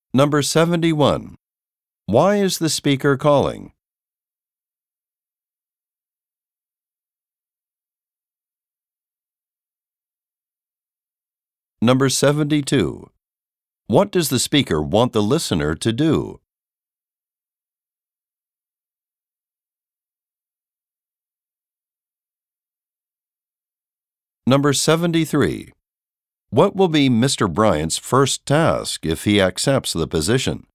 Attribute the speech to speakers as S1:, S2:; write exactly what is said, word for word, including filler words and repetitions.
S1: Number seventy-one. Why is the speaker calling? Number seventy-two. What does the speaker want the listener to do? Number seventy-three. What will be Mister Bryant's first task if he accepts the position?